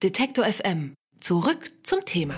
Detektor FM. Zurück zum Thema.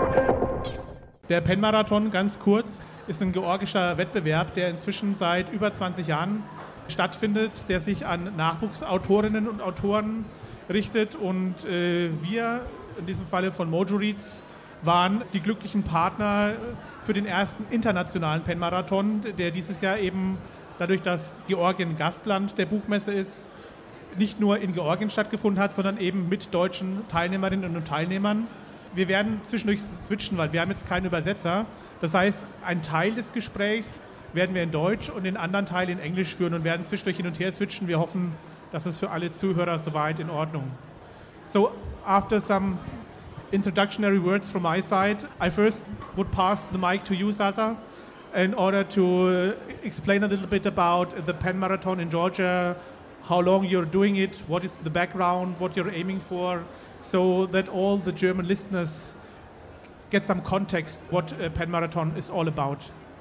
Der Penn-Marathon, ganz kurz, ist ein georgischer Wettbewerb, der inzwischen seit über 20 Jahren stattfindet, der sich an Nachwuchsautorinnen und Autoren richtet. Und wir, in diesem Falle von Mojo Reads, waren die glücklichen Partner für den ersten internationalen Penn-Marathon, der dieses Jahr eben dadurch, dass Georgien Gastland der Buchmesse ist, nicht nur in Georgien stattgefunden hat, sondern eben mit deutschen Teilnehmerinnen und Teilnehmern. Wir werden zwischendurch switchen, weil wir haben jetzt keinen Übersetzer. Das heißt, einen Teil des Gesprächs werden wir in Deutsch und den anderen Teil in Englisch führen und werden zwischendurch hin und her switchen. Wir hoffen, dass es für alle Zuhörer soweit in Ordnung. So, after some introductory words from my side, I first would pass the mic to you, Sasa, in order to explain a little bit about the Penn Marathon in Georgia, how long you're doing it, what is the background, what you're aiming for, so that all the German listeners get some context what Penn Marathon is all about.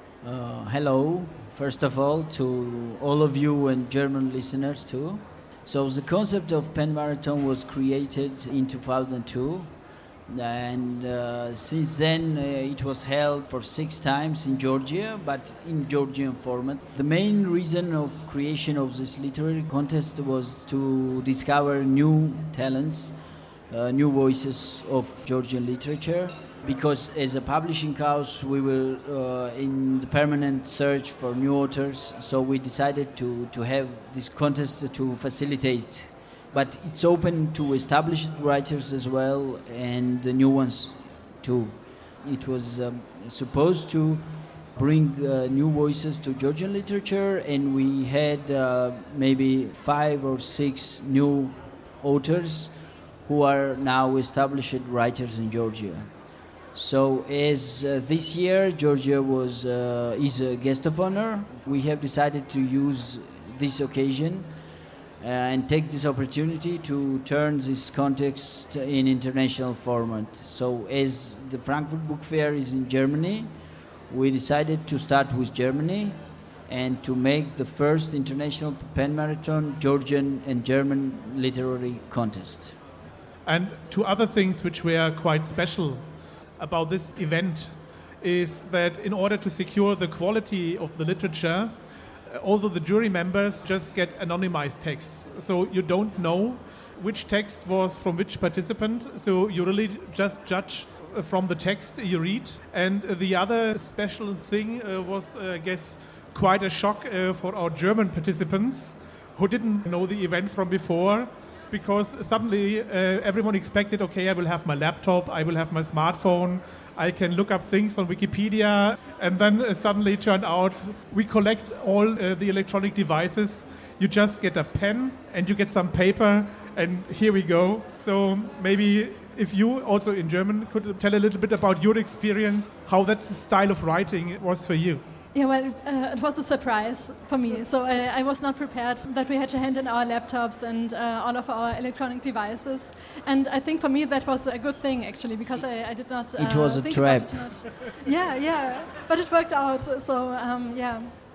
Hello, first of all, to all of you and German listeners too. So the concept of Penn Marathon was created in 2002. And since then it was held for 6 times in Georgia, but in Georgian format. The main reason of creation of this literary contest was to discover new talents, new voices of Georgian literature, because as a publishing house we were in the permanent search for new authors, so we decided to have this contest to facilitate. But it's open to established writers as well and the new ones too. It was supposed to bring new voices to Georgian literature, and we had maybe 5 or 6 new authors who are now established writers in Georgia. So as this year Georgia is a guest of honor, we have decided to use this occasion and take this opportunity to turn this context in international format. So as the Frankfurt Book Fair is in Germany, we decided to start with Germany and to make the first international Penn Marathon Georgian and German literary contest. And 2 other things which were quite special about this event is that in order to secure the quality of the literature, although the jury members just get anonymized texts, so you don't know which text was from which participant, so you really just judge from the text you read. And the other special thing was, I guess, quite a shock for our German participants who didn't know the event from before, because suddenly everyone expected, okay, I will have my laptop, I will have my smartphone, I can look up things on Wikipedia, and then suddenly it turned out we collect all the electronic devices. You just get a pen and you get some paper, and here we go. So maybe if you also in German could tell a little bit about your experience, how that style of writing was for you. Yeah, well, it was a surprise for me. So I was not prepared that we had to hand in our laptops and all of our electronic devices. And I think for me that was a good thing, actually, because I did not it was a think trap. about it much. Yeah, but it worked out. So, yeah.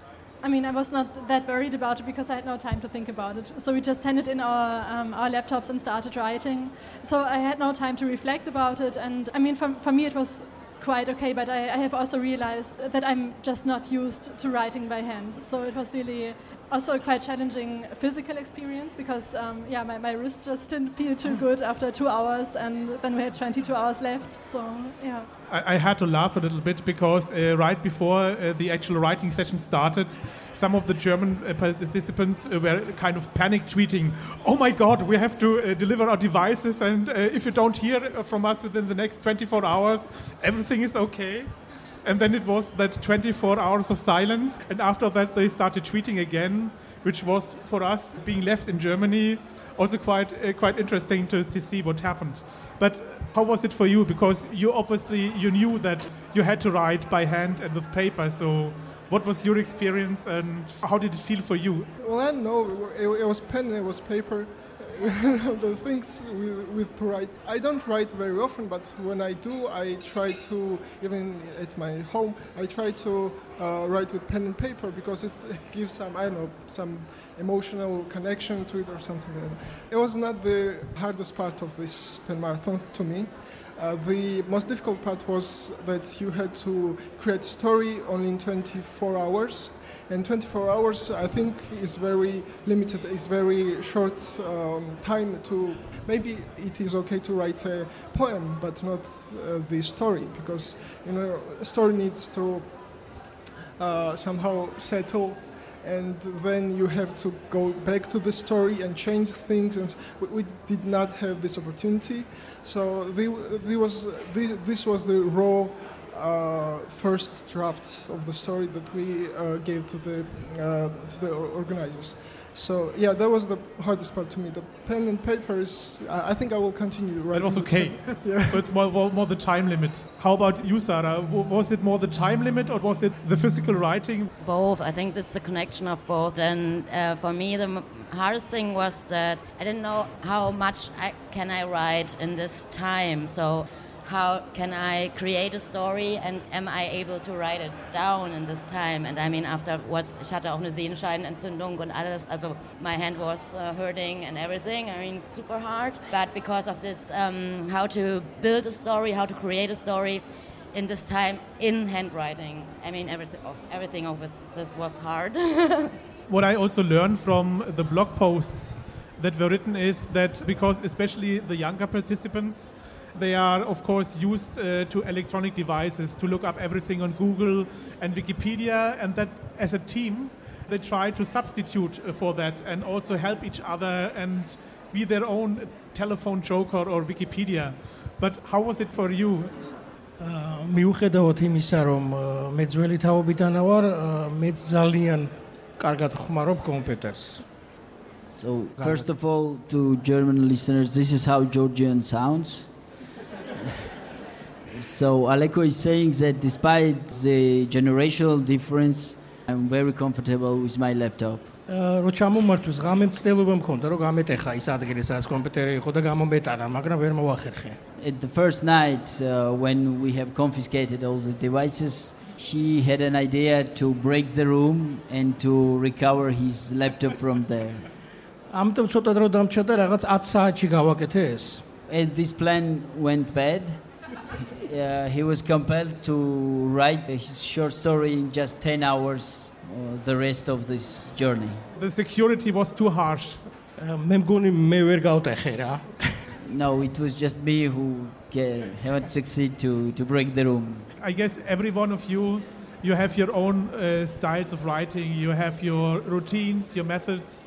I mean, I was not that worried about it because I had no time to think about it. So we just handed in our laptops and started writing. So I had no time to reflect about it. And I mean, for me it was quite okay, but I have also realized that I'm just not used to writing by hand. So it was really also a quite challenging physical experience because, my wrist just didn't feel too good after 2 hours, and then we had 22 hours left. So, yeah. I had to laugh a little bit because right before the actual writing session started, some of the German participants were kind of panic tweeting, "Oh my God, we have to deliver our devices, and if you don't hear from us within the next 24 hours, everything is okay." And then it was that 24 hours of silence, and after that they started tweeting again, which was for us being left in Germany also quite interesting to see what happened. But how was it for you? Because you knew that you had to write by hand and with paper. So what was your experience and how did it feel for you? Well, I know it was pen and it was paper. the things with to write. I don't write very often, but when I do, I try to, even at my home, I try to write with pen and paper because it gives some emotional connection to it or something like that. It was not the hardest part of this pen marathon to me. The most difficult part was that you had to create a story only in 24 hours. And 24 hours, I think, is very limited. It's very short time to... Maybe it is okay to write a poem, but not the story, because, a story needs to somehow settle, and then you have to go back to the story and change things, and we did not have this opportunity. So this was the raw first draft of the story that we gave to the organizers. So yeah, that was the hardest part to me. The pen and paper is, I think I will continue writing. That was okay. Yeah. So it's more the time limit. How about you, Sarah? Was it more the time limit or was it the physical writing? Both. I think it's a connection of both. And for me, the hardest thing was that I didn't know how much can I write in this time. So how can I create a story and am I able to write it down in this time? And I mean, afterwards, ich hatte auch eine Sehenscheidenentzündung und alles. Also my hand was hurting and everything. I mean, super hard. But because of this, how to build a story, how to create a story in this time in handwriting. I mean, everything of this was hard. What I also learned from the blog posts that were written is that because especially the younger participants, they are, of course, used to electronic devices to look up everything on Google and Wikipedia, and that as a team, they try to substitute for that and also help each other and be their own telephone joker or Wikipedia. But how was it for you? მიუხედავად იმისა, რომ მე ძველი თაობიდანა ვარ, მე ძალიან კარგად ხმარობ კომპიუტერს. So, first of all, to German listeners, this is how Georgian sounds. So Aleko is saying that despite the generational difference, I'm very comfortable with my laptop. რო ჩამომართვის ღამე მცდელობა მქონდა, რომ გამეტეხა ის ადგილი, სადაც კომპიუტერი იყო და გამომეტანა, მაგრამ ვერ მოვახერხე. At the first night, when we have confiscated all the devices, he had an idea to break the room and to recover his laptop from there. ამიტომ ცოტა დრო დამჭა და რაღაც 10 საათში გავაკეთე ეს. As this plan went bad, he was compelled to write his short story in just 10 hours, the rest of this journey. The security was too harsh. მე მგონი მე ვერ გავტეხე რა. No, it was just me who haven't succeeded to break the room. I guess every one of you have your own styles of writing. You have your routines, your methods,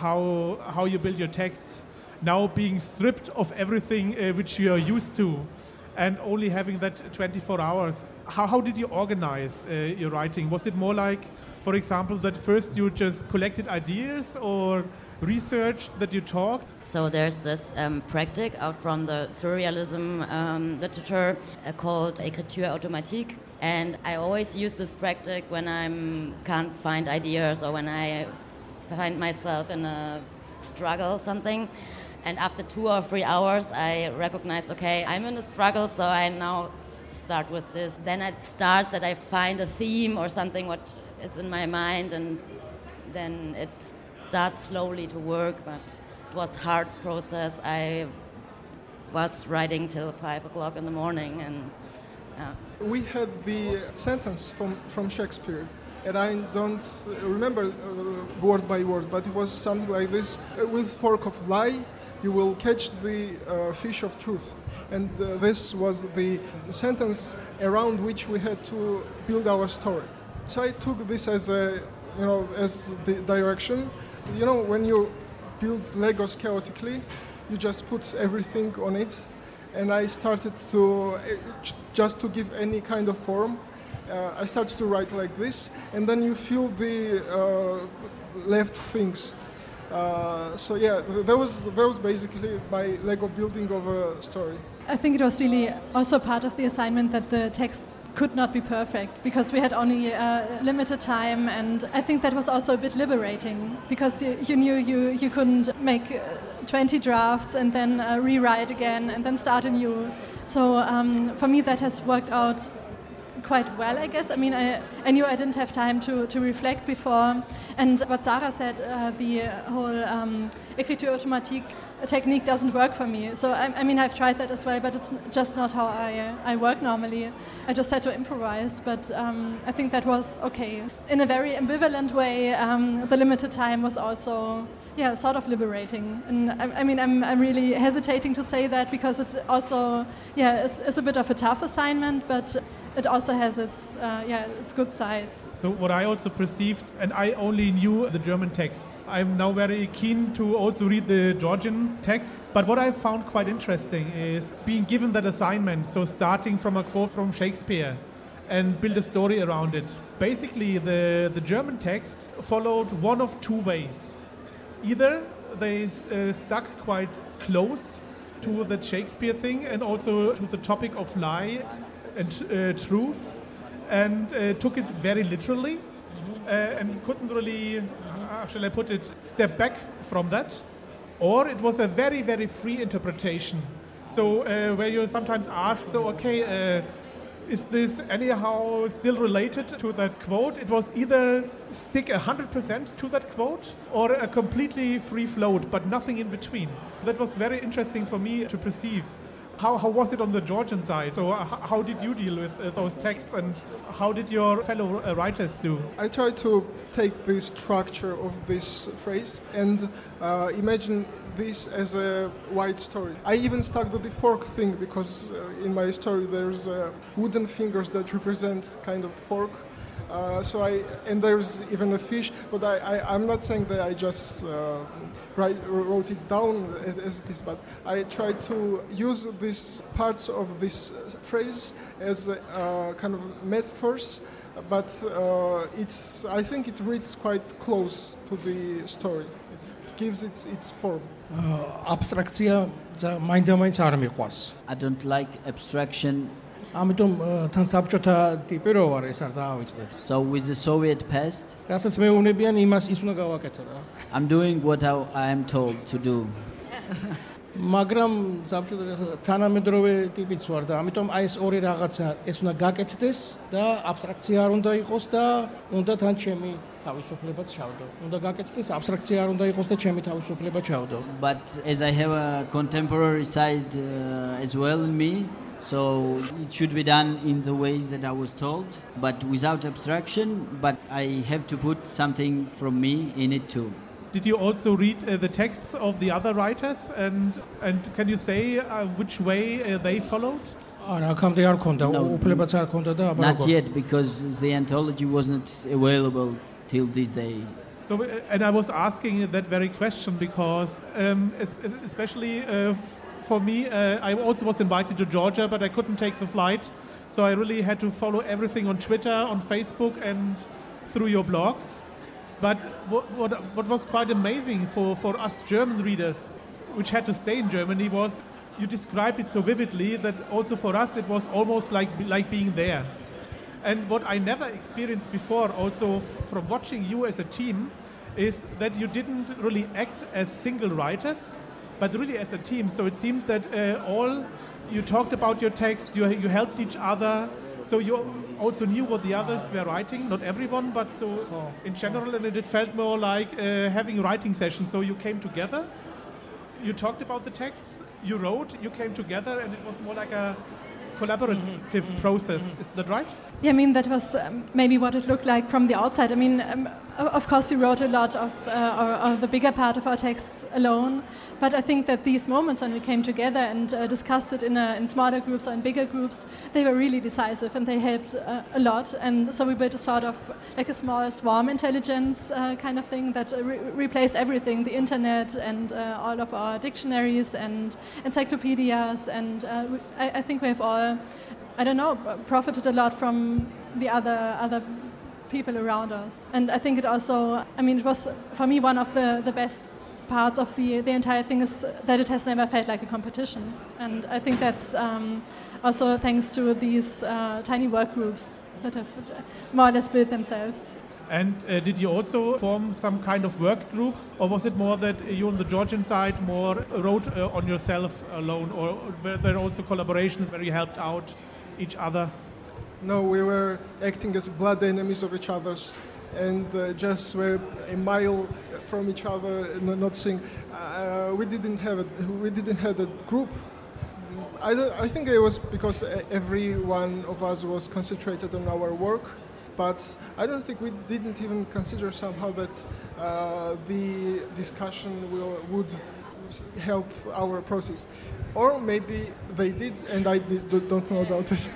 how you build your texts. Now being stripped of everything which you are used to and only having that 24 hours. How did you organize your writing? Was it more like, for example, that first you just collected ideas or researched that you talked? So there's this practice out from the surrealism literature called écriture automatique. And I always use this practice when I can't find ideas or when I find myself in a struggle, something. And after 2 or 3 hours, I recognize, okay, I'm in a struggle, so I now start with this. Then it starts that I find a theme or something what is in my mind, and then it starts slowly to work, but it was a hard process. I was writing till 5 o'clock in the morning, and We had the sentence from Shakespeare, and I don't remember word by word, but it was something like this: with fork of lie, you will catch the fish of truth. And this was the sentence around which we had to build our story. So I took this as as the direction. When you build Legos chaotically, you just put everything on it. And I started to, just to give any kind of form, I started to write like this, and then you fill the left things. So yeah, that was basically my Lego building of a story. I think it was really also part of the assignment that the text could not be perfect because we had only limited time, and I think that was also a bit liberating because you knew you couldn't make 20 drafts and then rewrite again and then start anew. So for me that has worked out quite well, I guess. I mean, I knew I didn't have time to reflect before, and what Sarah said, the whole écriture automatique technique doesn't work for me. So I mean, I've tried that as well, but it's just not how I work normally. I just had to improvise, but I think that was okay. In a very ambivalent way, the limited time was also sort of liberating. And I mean, I'm really hesitating to say that because it also is a bit of a tough assignment, but it also has its good sides. So what I also perceived, and I only knew the German texts. I'm now very keen to also read the Georgian texts. But what I found quite interesting is being given that assignment, so starting from a quote from Shakespeare and build a story around it. Basically, the German texts followed one of two ways. Either they stuck quite close to the Shakespeare thing and also to the topic of lie and truth, and took it very literally, and couldn't really, how shall I put it, step back from that. Or it was a very, very free interpretation. So where you sometimes ask, so okay, is this anyhow still related to that quote? It was either stick 100% to that quote or a completely free float, but nothing in between. That was very interesting for me to perceive. How was it on the Georgian side? So how did you deal with those texts, and how did your fellow writers do? I tried to take the structure of this phrase and imagine this as a wide story. I even stuck to the fork thing because in my story there's wooden fingers that represent kind of fork. And there's even a fish, but I'm not saying that I just wrote it down as it is, but I tried to use these parts of this phrase as kind of metaphors, but I think it reads quite close to the story. It gives its form. Abstrakция მაინდა-მაინც არ მიყვარს. I don't like abstraction. ამიტომ თან საბჭოთა ტიპი რო ვარ, ეს არ დაავიწყდეთ. So with the Soviet past, რასაც მეუბნებიან, იმას ის უნდა გავაკეთო რა. I'm doing what I am told to do. მაგრამ საბჭოთა თანამედროვე ტიპიც ვარ და ამიტომ აი ეს ორი რაღაცა ეს უნდა გაკეთდეს და აბსტრაქცია არ უნდა იყოს და უნდა თან ჩემი თავისუფლებაც ჩავდო. უნდა გაკეთდეს, აბსტრაქცია არ უნდა იყოს და ჩემი თავისუფლება ჩავდო. But as I have a contemporary side as well in me, so it should be done in the ways that I was told, but without abstraction, but I have to put something from me in it too. Did you also read the texts of the other writers, and can you say which way they followed? აქამდე არ ქონდა, უფლებაც არ ქონდა და აბა Not yet, because the anthology wasn't available till this day. So, and I was asking that very question because especially for me, I also was invited to Georgia, but I couldn't take the flight. So I really had to follow everything on Twitter, on Facebook, and through your blogs. But what was quite amazing for us German readers, which had to stay in Germany, was you described it so vividly that also for us it was almost like being there. And what I never experienced before, also from watching you as a team, is that you didn't really act as single writers, but really as a team. So it seemed that you talked about your text, you helped each other, so you also knew what the others were writing, not everyone, but so in general, and it felt more like having writing sessions. So you came together, you talked about the texts, you wrote, you came together, and it was more like a collaborative process. Is that right? Yeah, I mean, that was maybe what it looked like from the outside. I mean, of course, we wrote a lot of the bigger part of our texts alone, but I think that these moments when we came together and discussed it in smaller groups or in bigger groups, they were really decisive and they helped a lot. And so we built a sort of like a small swarm intelligence kind of thing that replaced everything, the internet and all of our dictionaries and encyclopedias. And I think we have all, I don't know, profited a lot from the other people around us. And I think it also, I mean, it was for me one of the best parts of the entire thing is that it has never felt like a competition. And I think that's also thanks to these tiny work groups that have more or less built themselves. And did you also form some kind of work groups, or was it more that you on the Georgian side more wrote on yourself alone, or were there also collaborations where you helped out each other? No, we were acting as blood enemies of each other's, and just were a mile from each other, not seeing. We didn't have a group. I think it was because every one of us was concentrated on our work. But I don't think we didn't even consider somehow that the discussion would help our process. Or maybe they did, and I don't know about this.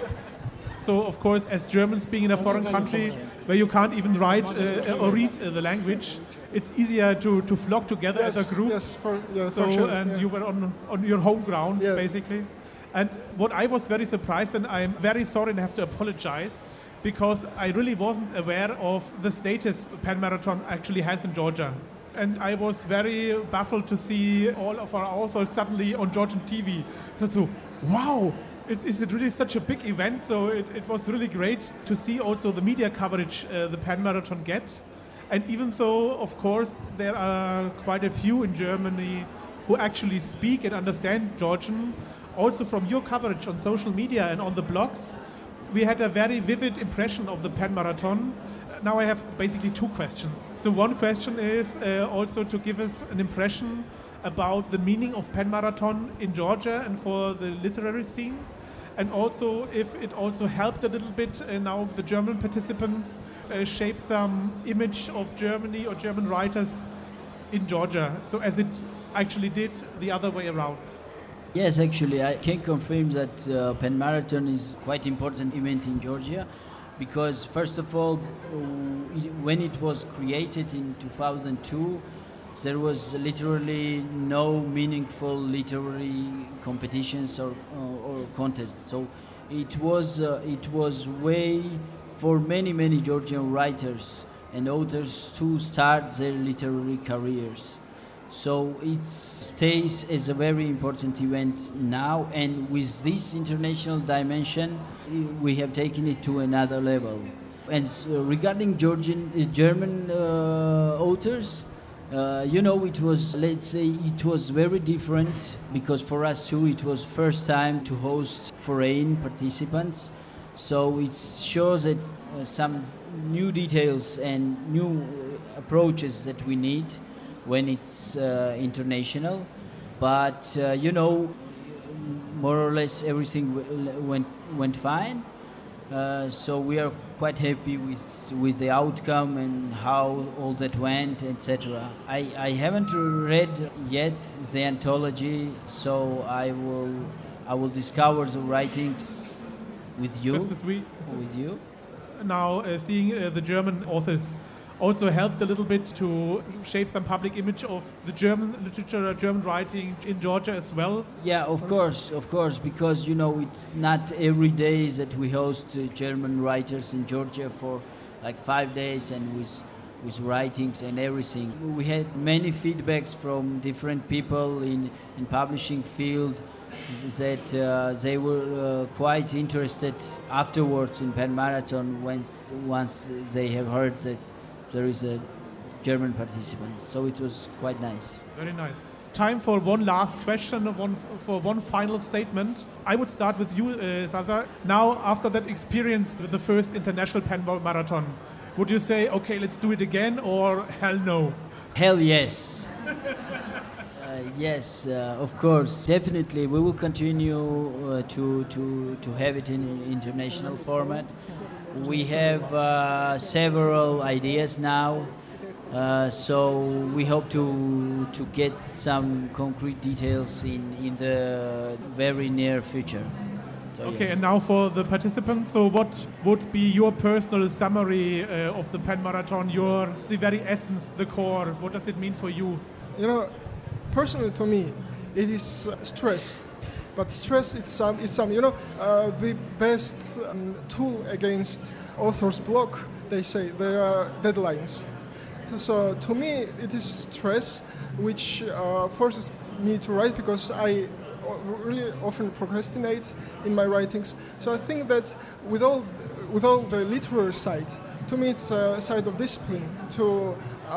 So, of course, as Germans being in a foreign country where you can't even write or read the language, it's easier to flock together as a group. Yes, for sure. And yeah. you were on your home ground, basically. And what I was very surprised, and I'm very sorry and have to apologize, because I really wasn't aware of the status Penn Marathon actually has in Georgia. And I was very baffled to see all of our authors suddenly on Georgian TV. So, wow, is it really such a big event? So it was really great to see also the media coverage the Penn Marathon get. And even though, of course, there are quite a few in Germany who actually speak and understand Georgian, also from your coverage on social media and on the blogs, we had a very vivid impression of the Penn Marathon. Now I have basically two questions. So one question is also to give us an impression about the meaning of Penn Marathon in Georgia and for the literary scene. And also if it also helped a little bit now the German participants shape some image of Germany or German writers in Georgia. So as it actually did the other way around. Yes, actually, I can confirm that Penn Marathon is quite important event in Georgia because, first of all, when it was created in 2002, there was literally no meaningful literary competitions or contests. So it was way for many Georgian writers and authors to start their literary careers. So it stays as a very important event now, and with this international dimension, we have taken it to another level. And regarding German authors, it was, let's say, it was very different because for us too, it was first time to host foreign participants. So it shows that some new details and new approaches that we need when it's international, but more or less everything went fine. So we are quite happy with the outcome and how all that went, etc. I haven't read yet the anthology, so I will discover the writings with you. Just this week. With you. Now seeing the German authors also helped a little bit to shape some public image of the German literature, German writing in Georgia as well? Yeah, of course, because, it's not every day that we host German writers in Georgia for like 5 days and with writings and everything. We had many feedbacks from different people in publishing field that they were quite interested afterwards in Penn Marathon once they have heard that there is a German participant. So it was quite nice. Very nice. Time for one last question, for one final statement. I would start with you, Zaza. Now, after that experience with the first international Penn Marathon, would you say, okay, let's do it again, or hell no? Hell yes. Yes, of course. Definitely, we will continue to have it in international format. We have several ideas now, so we hope to get some concrete details in the very near future. So okay, yes. And now for the participants, so what would be your personal summary of the Penn Marathon, the very essence, the core? What does it mean for you? Personally to me, it is stress. But stress is the best tool against author's block. They say there are deadlines. So to me, it is stress, which forces me to write because I really often procrastinate in my writings. So I think that with all the literary side, to me it's a side of discipline to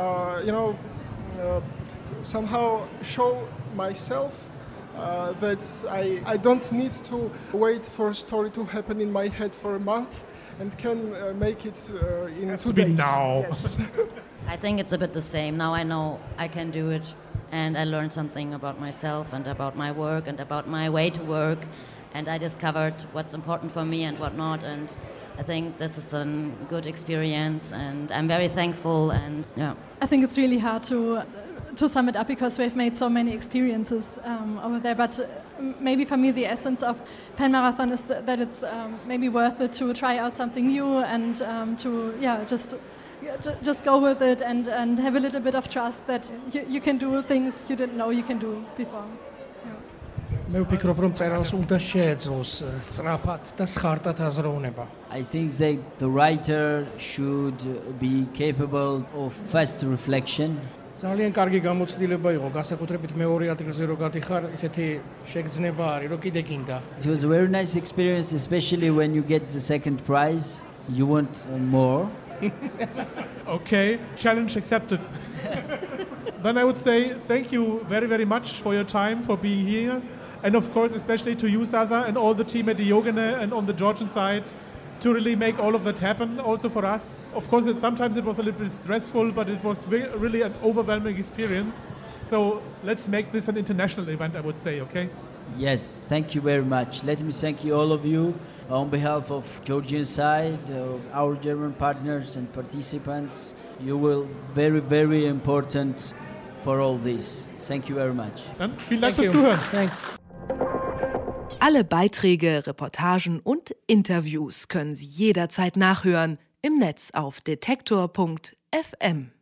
somehow show myself that I don't need to wait for a story to happen in my head for a month and can make it in 2 days. Now. Yes. I think it's a bit the same. Now I know I can do it, and I learned something about myself and about my work and about my way to work, and I discovered what's important for me and what not, and I think this is a good experience, and I'm very thankful, and yeah. I think it's really hard to sum it up because we've made so many experiences over there, but maybe for me the essence of Penn Marathon is that it's maybe worth it to try out something new and to just go with it and have a little bit of trust that you can do things you didn't know you can do before. მე ვფიქრობ რომ წერალს უნდა შეეძლოს სწრაფად და სხარტად აზროვნება. I think that the writer should be capable of fast reflection. ძალიან კარგი გამოცდილება იყო, განსაკუთრებით მეორე ადგილზე რო გადიხარ, ისეთი შეგრძნება არის, რომ კიდე გინდა. It was a very nice experience, especially when you get the second prize. You want more. Okay, challenge accepted. Then I would say thank you very, very much for your time, for being here. And of course, especially to you, Sasa, and all the team at Diogene and on the Georgian side to really make all of that happen, also for us. Of course, sometimes it was a little bit stressful, but it was really an overwhelming experience. So let's make this an international event, I would say, okay? Yes, thank you very much. Let me thank you, all of you, on behalf of Georgian side, our German partners and participants. You will very, very important for all this. Thank you very much. Dann vielen Dank fürs Zuhören. Thanks. Alle Beiträge, Reportagen und Interviews können Sie jederzeit nachhören im Netz auf detektor.fm.